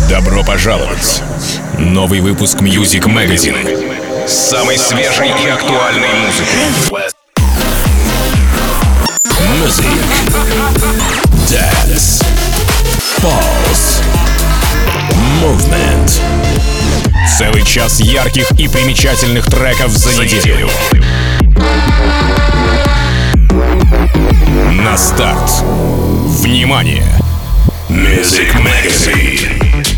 Добро пожаловать! Новый выпуск Music Magazine с самой свежей и актуальной музыкой. Music, Dance, Pulse, Movement. Целый час ярких и примечательных треков за неделю. На старт. Внимание! Music Magazine.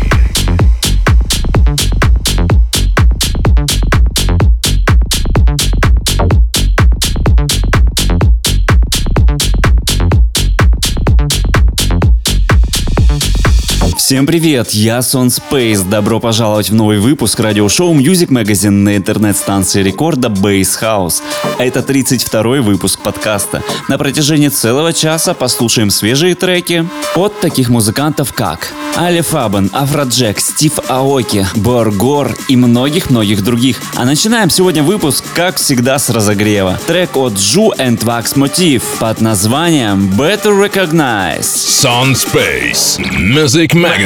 Всем привет, я Сон Спейс. Добро пожаловать в новый выпуск радиошоу Music Magazine на интернет-станции рекорда Bass House. Это 32-й выпуск подкаста. На протяжении целого часа послушаем свежие треки от таких музыкантов, как Ali Faben, Afrojack, Стив Аоки, Боргор и многих-многих других. А начинаем сегодня выпуск, как всегда, с разогрева. Трек от Ju and Wax Motif под названием Better Recognize. Сон Спейс, Music Magazine.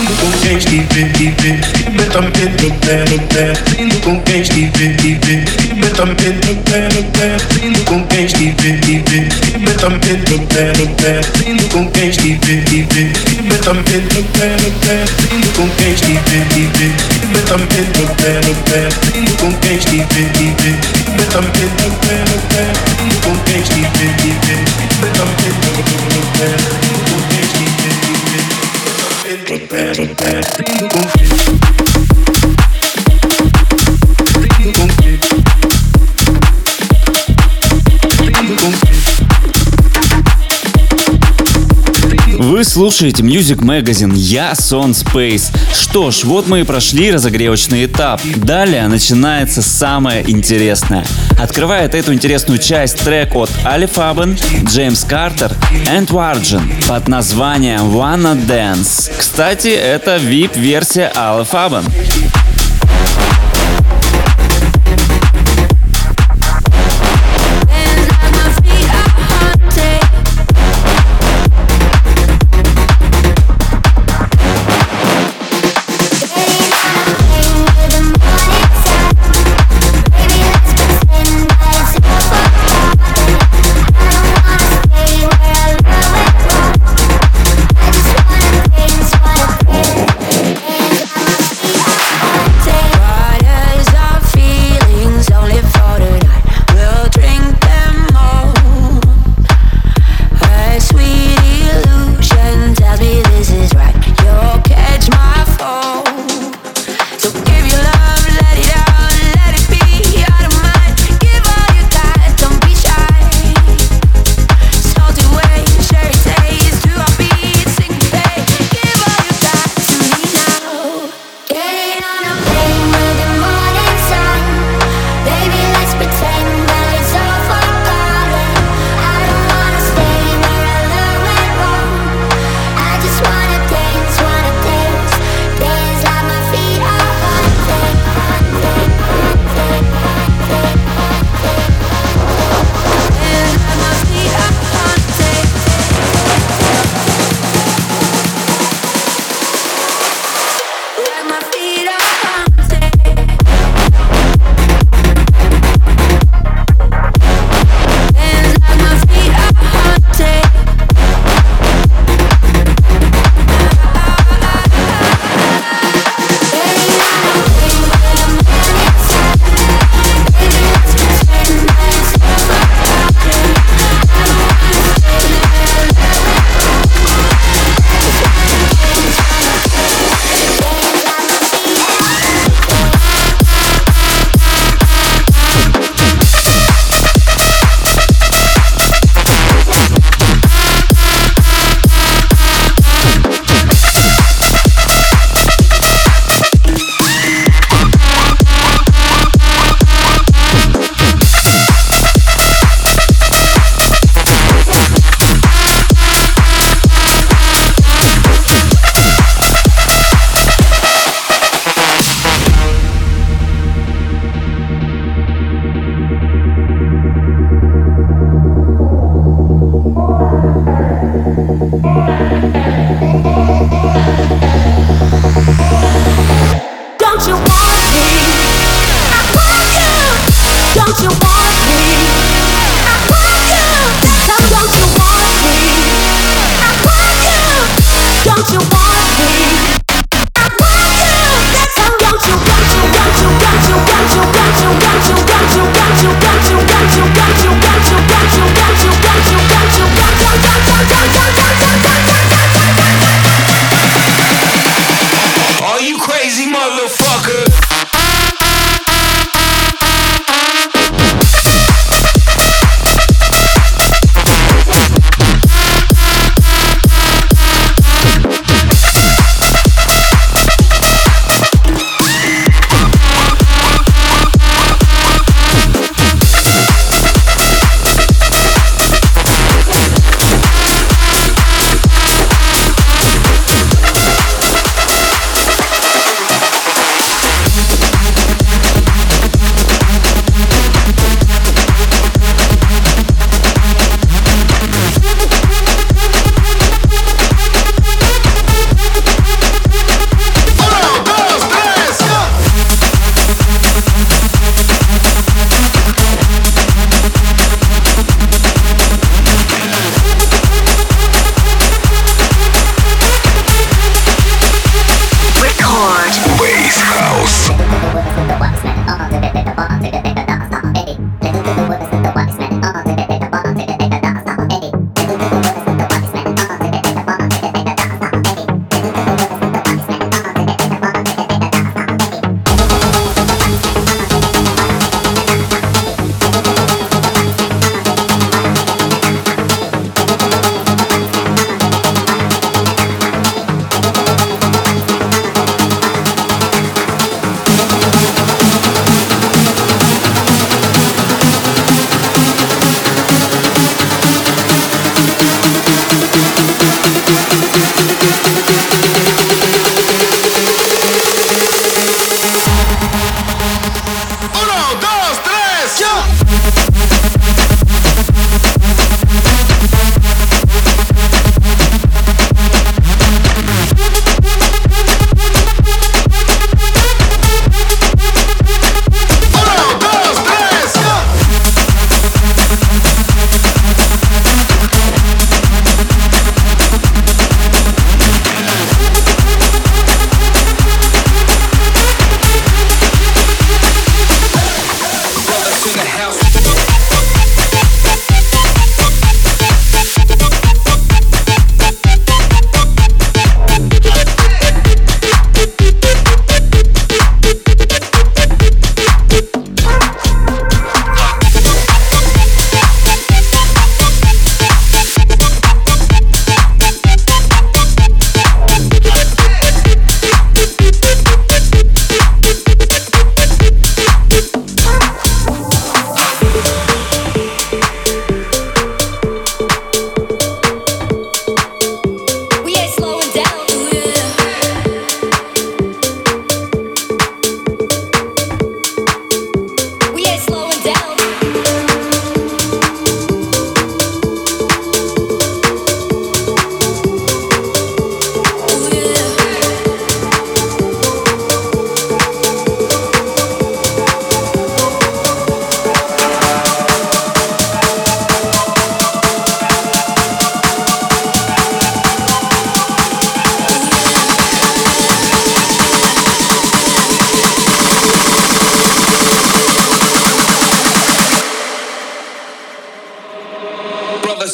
Indo com quem estiver, completamente no pé. Indo com quem estiver, completamente no pé. Indo com quem estiver, completamente no pé. Indo com quem estiver, completamente no pé. Indo com quem estiver, completamente no pé. Indo com quem estiver, completamente no pé. Indo com quem estiver, completamente no pé. Indo com quem estiver, indo com Вы слушаете Music Magazine, я Сон Space. Что ж, вот мы и прошли разогревочный этап. Далее начинается самое интересное. Открывает эту интересную часть трек от Ali Faben, Джеймс Картер и Wargen под названием Wanna Dance. Кстати, это VIP-версия Ali Faben.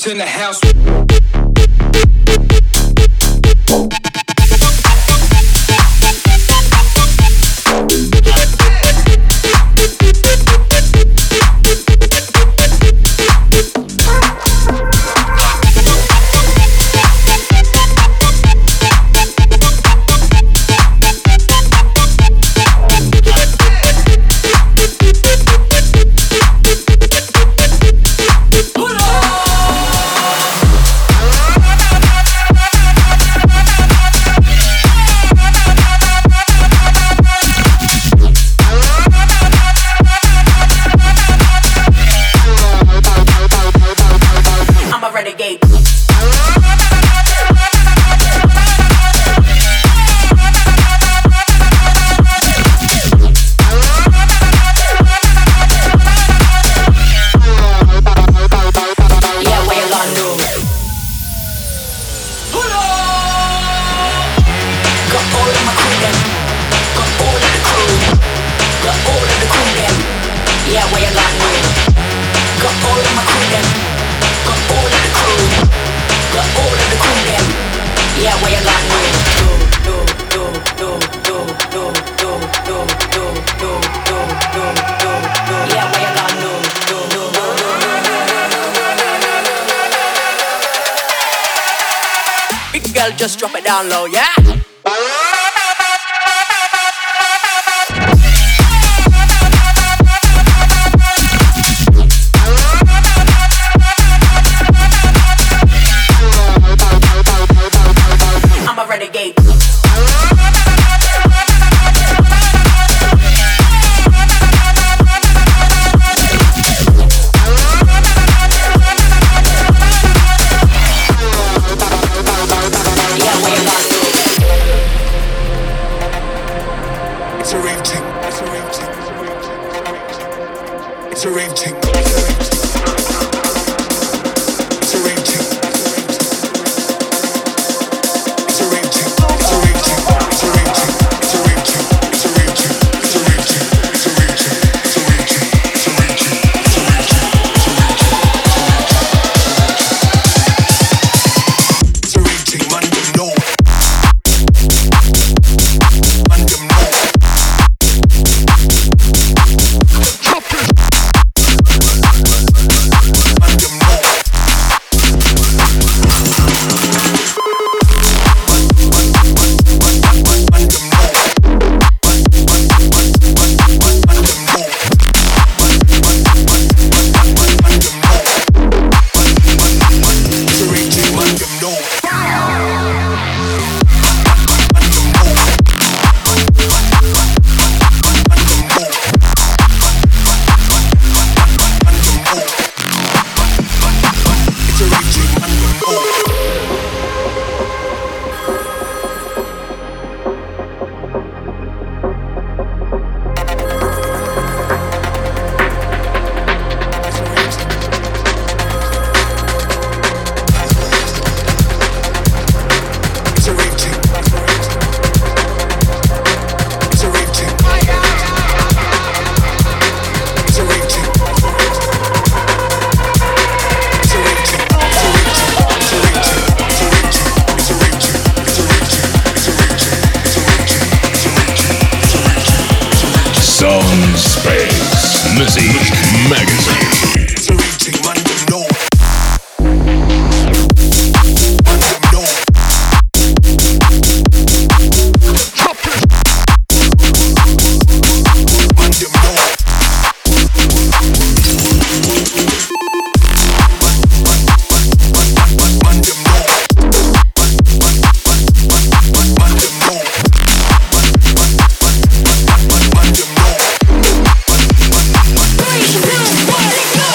in the house. Just drop it down low, yeah? I'm a renegade. Music Magazine. Three, two, one, go!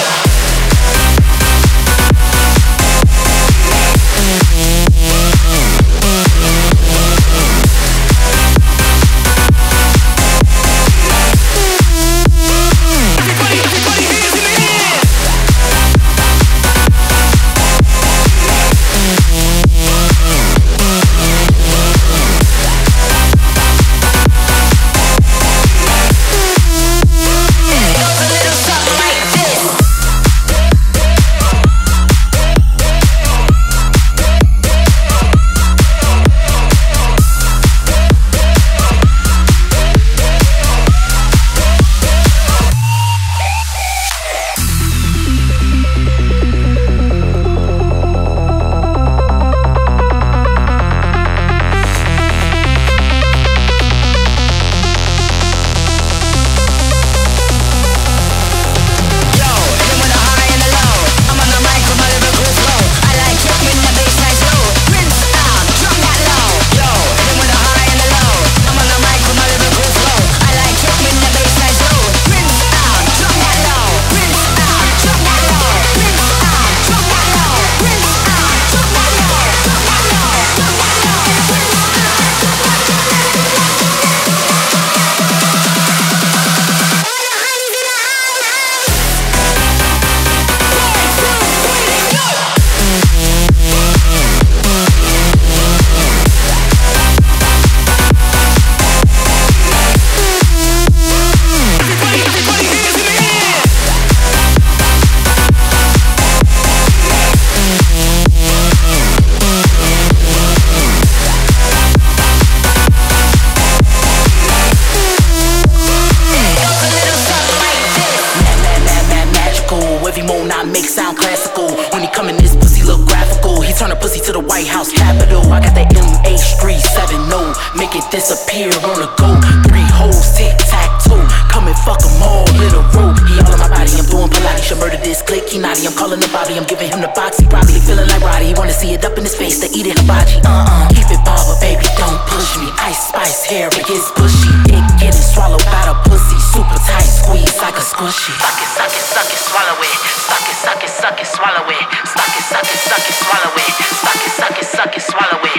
to the White House Capitol. I got that MH370, make it disappear on the go. 3 holes, tic-tac-toe, come and fuck them all in a row. He all in my body, I'm doing Pilates, should murder this click. He naughty, I'm calling the Bobby, I'm giving him the box. He probably feeling like Roddy, he wanna see it up in his face, to eat it hibachi. Keep it barber, baby, don't push me. Ice Spice hair, it gets bushy. Dick getting swallowed by the pussy, super tight squeeze like a squishy. Suck it, suck it, suck it, swallow it. Suck it, suck it, suck it, swallow it. Suck it, suck it, suck it, swallow it. Suck it, suck it, suck it, swallow it.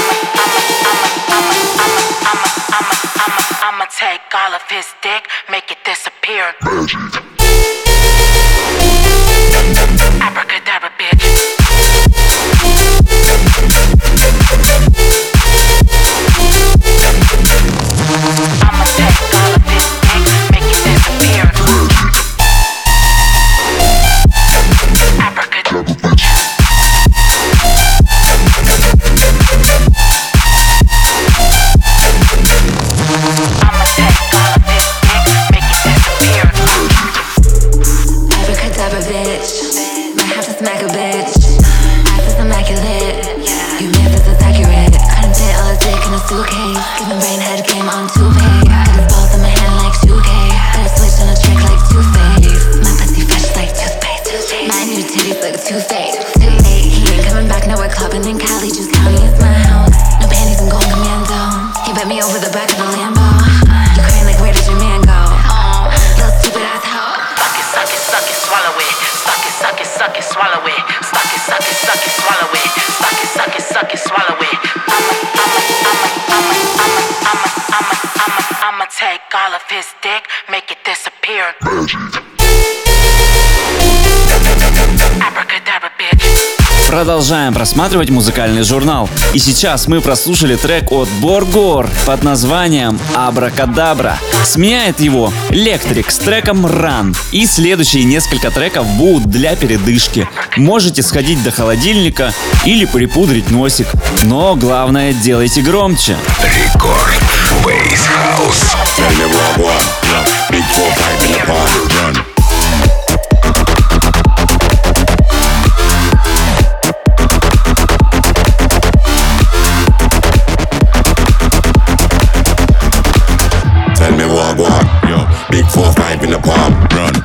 I'ma take all of his dick, make it disappear. Abracadabra, bitch. I'ma take all of his dick, make it disappear. Abracadabra, bitch. I'ma take all of his dick, make it disappear. Abracadabra, bitch. Might have to smack a bitch. Ass is immaculate. You missed this is accurate. Couldn't fit all his dick in a suitcase. Giving brain head game on 2Pay. Got his balls in my hand like 2K. Got a switch on a trick like Two-Face. My pussy fresh like toothpaste. My new titties look Two-Faced. Too late, he ain't coming back. Now we're clubbing in Cali. Juice County is my house. No panties, I'm going commando. He bet me over the back of the Lambo. You crying like, where did your man go? Little stupid ass hoe. Suck it, suck it, suck it, swallow it. Suck it, suck it, suck it, swallow it. Suck it, suck it, suck it, swallow it. Suck it, suck it, suck it, swallow it. I'ma take all of his dick, make it disappear. Abracadabra, bitch. Продолжаем просматривать музыкальный журнал. И сейчас мы прослушали трек от Боргор под названием «Абракадабра». Сменяет его Лектрик с треком «Run». И следующие несколько треков будут для передышки. Можете сходить до холодильника или припудрить носик. Но главное, делайте громче. Рекорд Бейс Хаус. Tell me what, yo, big 4-5 in the palm, run.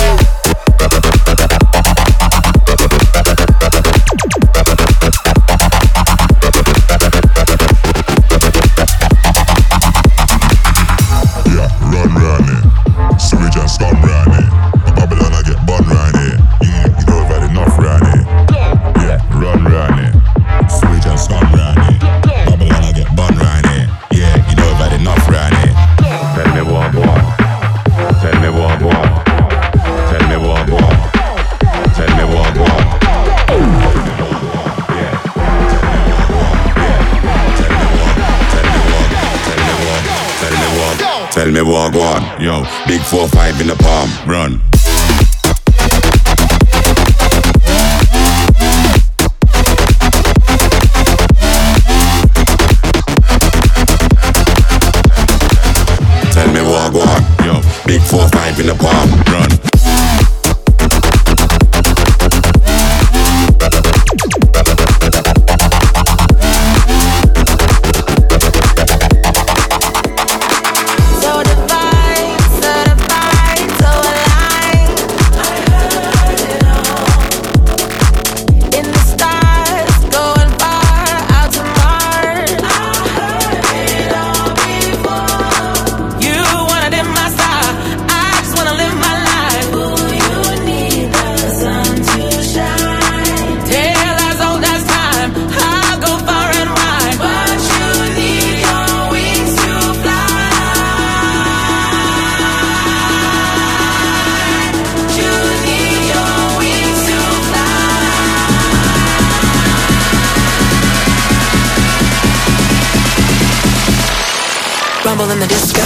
Yeah, run it. Sewage and scum run it. Babylon I get bun run it. You know I've had enough run it. Yeah, run it. Sewage and scum run it. Babylon I get bun run it. Yeah, you know I've had enough run it. Tell me what, tell me what, tell me what, tell me what, tell me what, go on, yo, big 4-5 in the palm, run. Tell me what, go on, yo, big 4-5 in the palm, run. Rumble in the disco.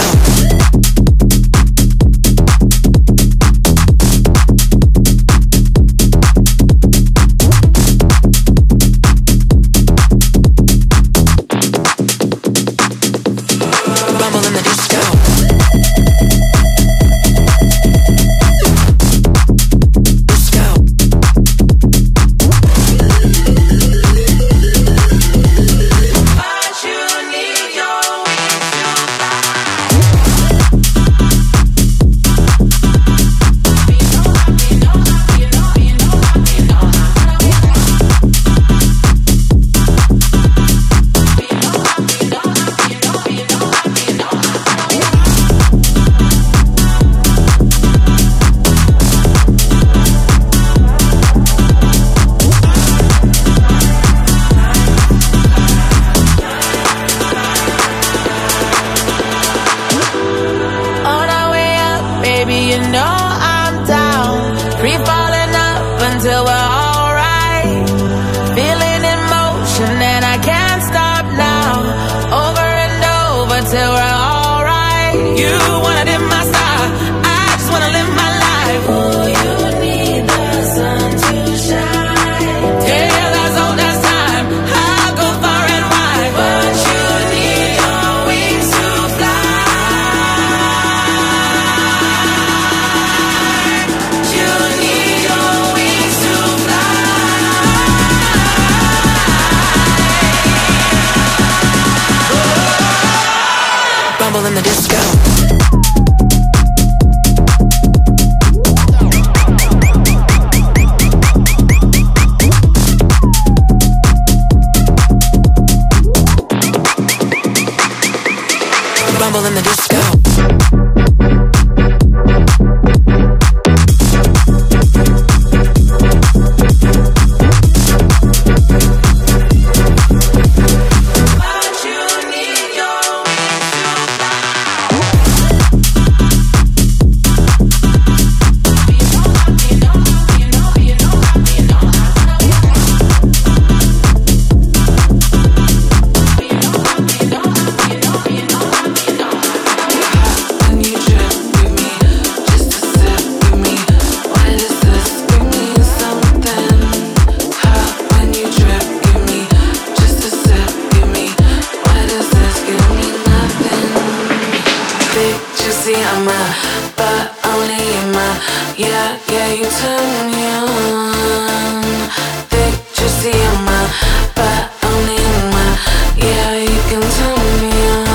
but only in my. Yeah, you turn me on. Think just see my, but only in my. Yeah, you can turn me on.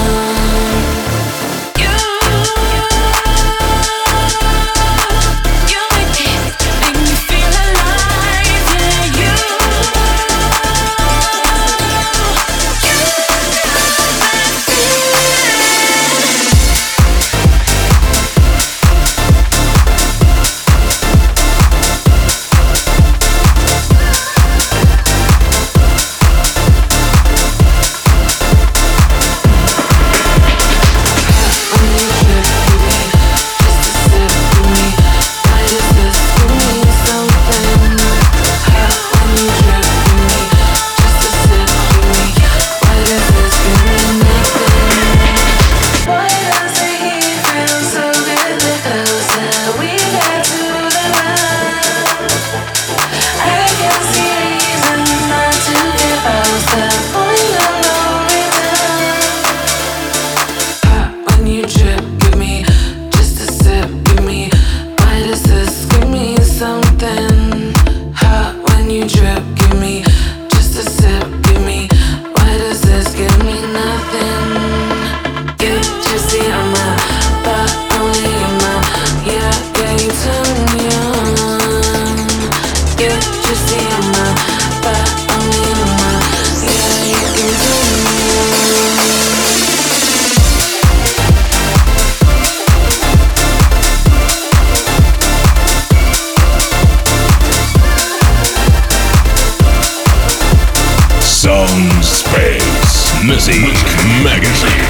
Music Magazine.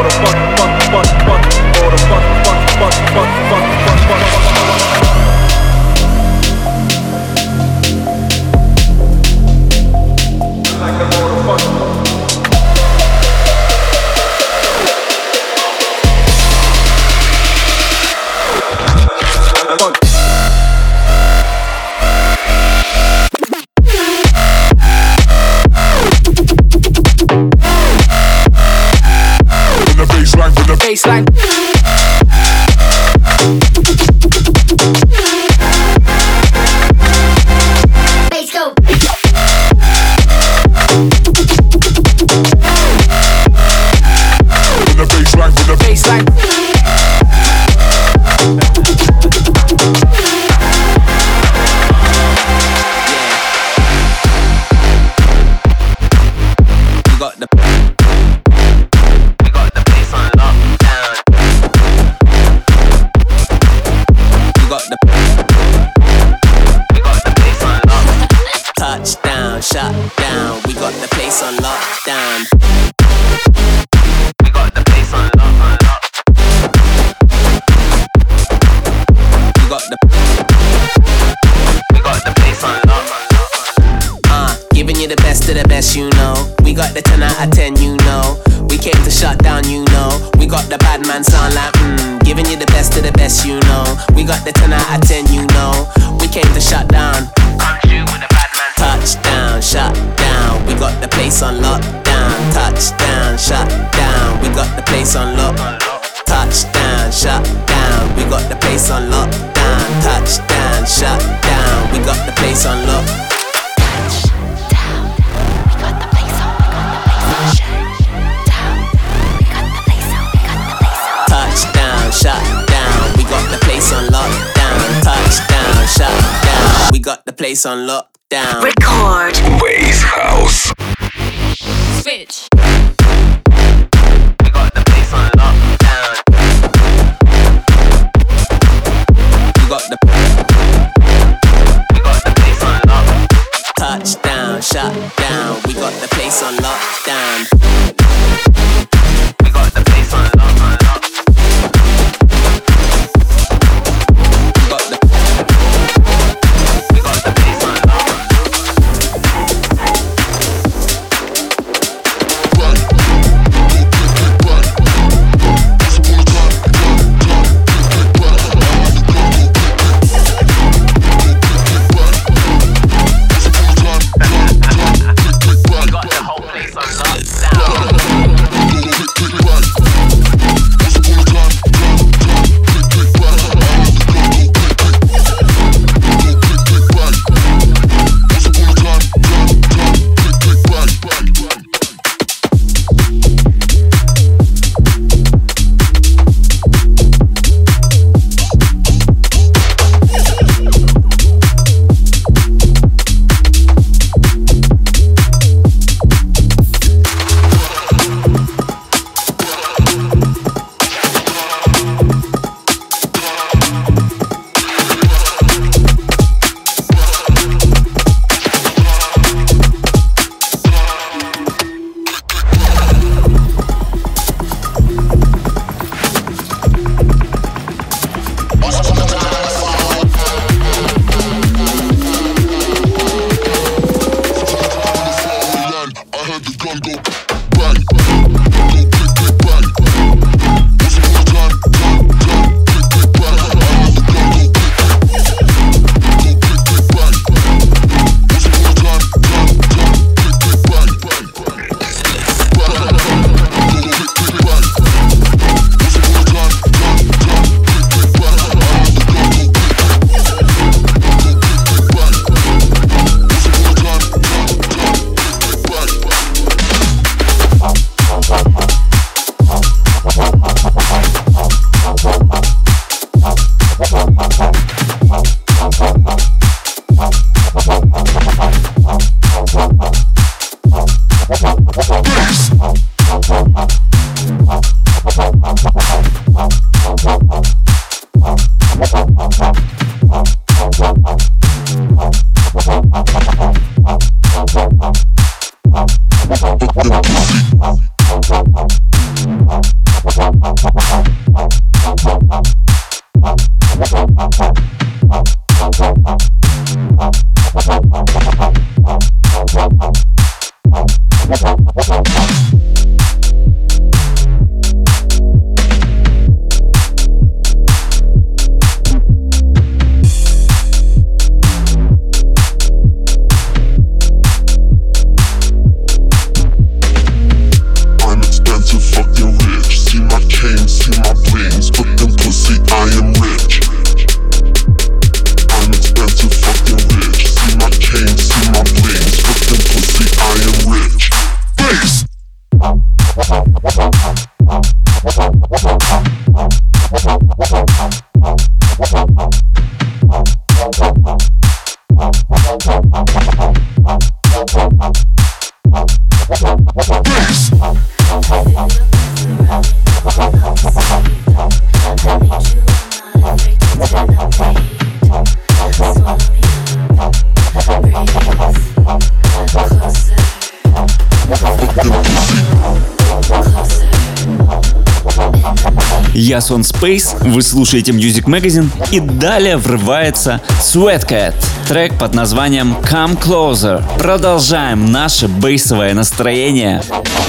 Baseline. Bass go. With the baseline, with the Baseline. Shut down, we got the place on lockdown. We got the place on lock. We got the place on lock. Giving you the best of the best, you know. We got the 10 out of 10, you know. We came to shut down, you know. We got the bad man sound like giving you the best of the best, you know. We got the 10 out of 10, you know. We came to shut down. Come true with the bad man. Touchdown, shut down. We got the place on lockdown. Touchdown, shut down. We got the place on lock. Touchdown, shut down. We got the place on lockdown. Touchdown, shut down. We got the place on lock. Touchdown, shut down. We got the place on lockdown. Touchdown, shut down. We got the place on lockdown. Record. Bass House. Switch. We got the place on lockdown. We got the place on lock. Touchdown, shut down. We got the place on lockdown. We got the place on lock. Я Сон Space, вы слушаете Music Magazine, и далее врывается Sweatcat, трек под названием Come Closer. Продолжаем наше бейсовое настроение.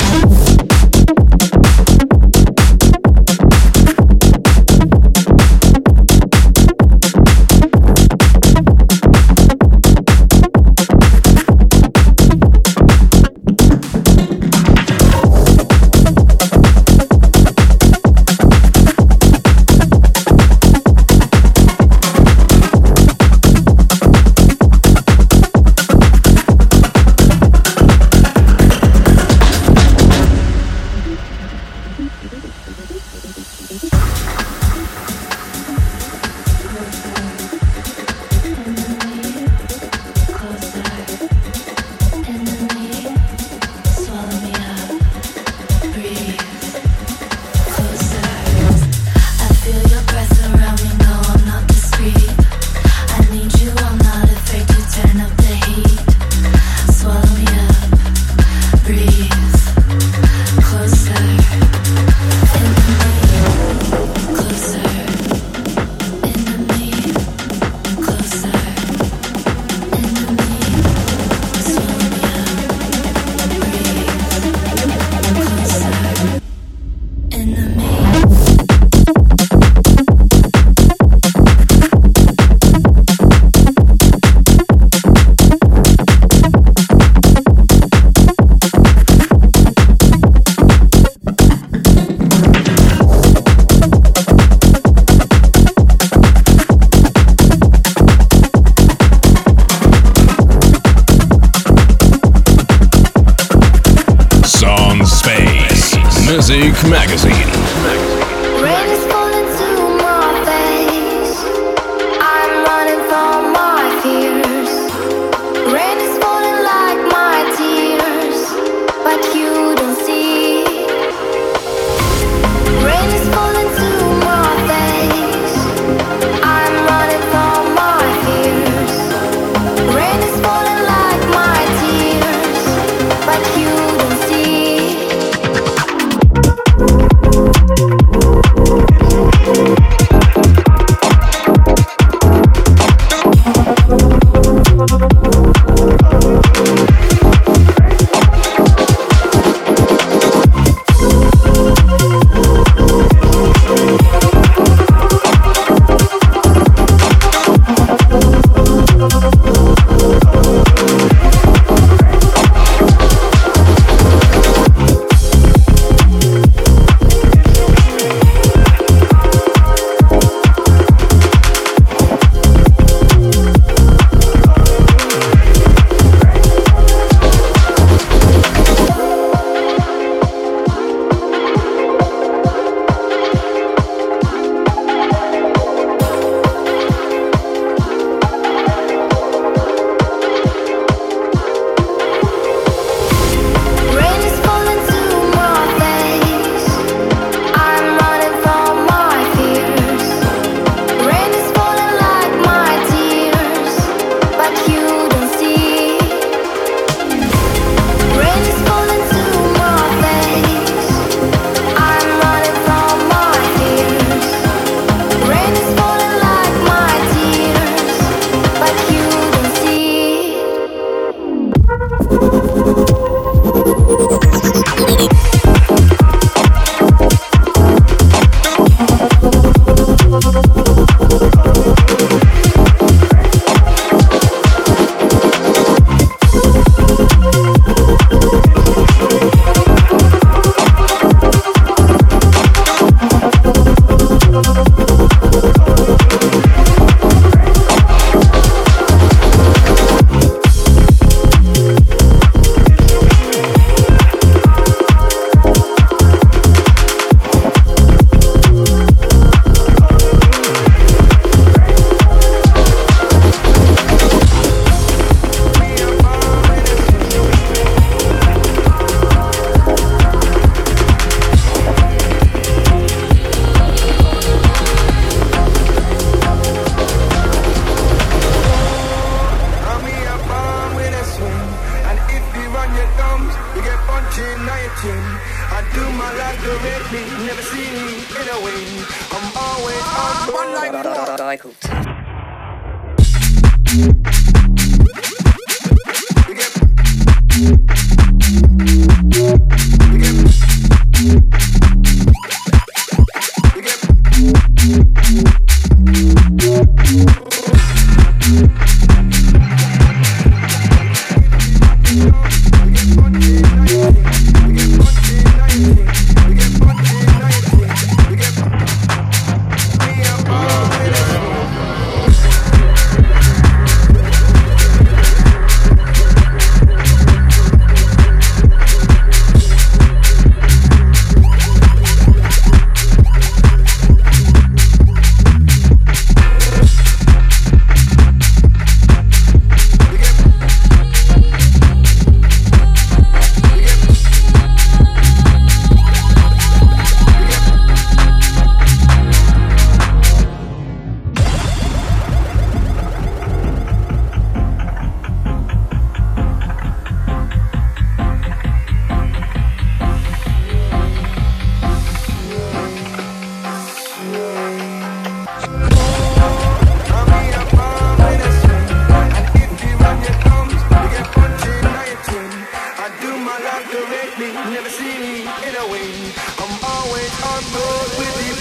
Music Magazine. Rain is falling to my face. I'm running from my fears. Rain is falling like my tears, but you don't see. Rain is falling to my face. I'm running from my fears. Rain is falling like my tears, but you don't see. do my life directly, never see me in a way. I'm always on board like never see me in a way. I'm always on board with you.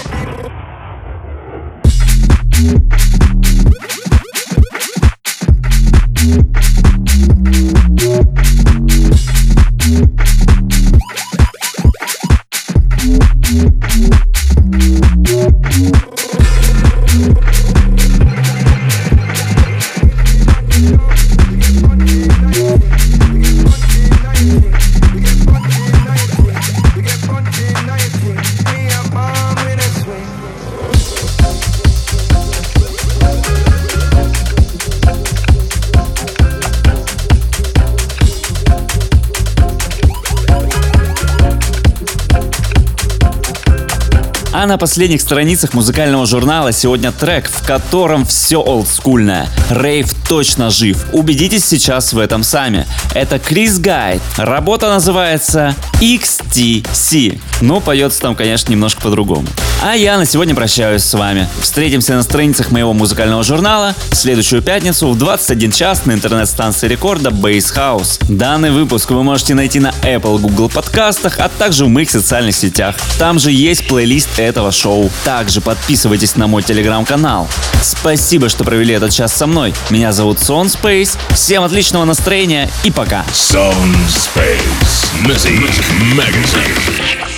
А на последних страницах музыкального журнала сегодня трек, в котором все олдскульное. Рейв точно жив. Убедитесь сейчас в этом сами. Это Крис Гайд. Работа называется XTC. Но поется там, конечно, немножко по-другому. А я на сегодня прощаюсь с вами. Встретимся на страницах моего музыкального журнала в следующую пятницу в 21 час на интернет-станции рекорда Bass House. Данный выпуск вы можете найти на Apple, Google подкастах, а также в моих социальных сетях. Там же есть плейлист этого шоу. Также подписывайтесь на мой телеграм-канал. Спасибо, что провели этот час со мной. Меня зовут Сон Space. Всем отличного настроения и пока. Sound Space Music Magazine.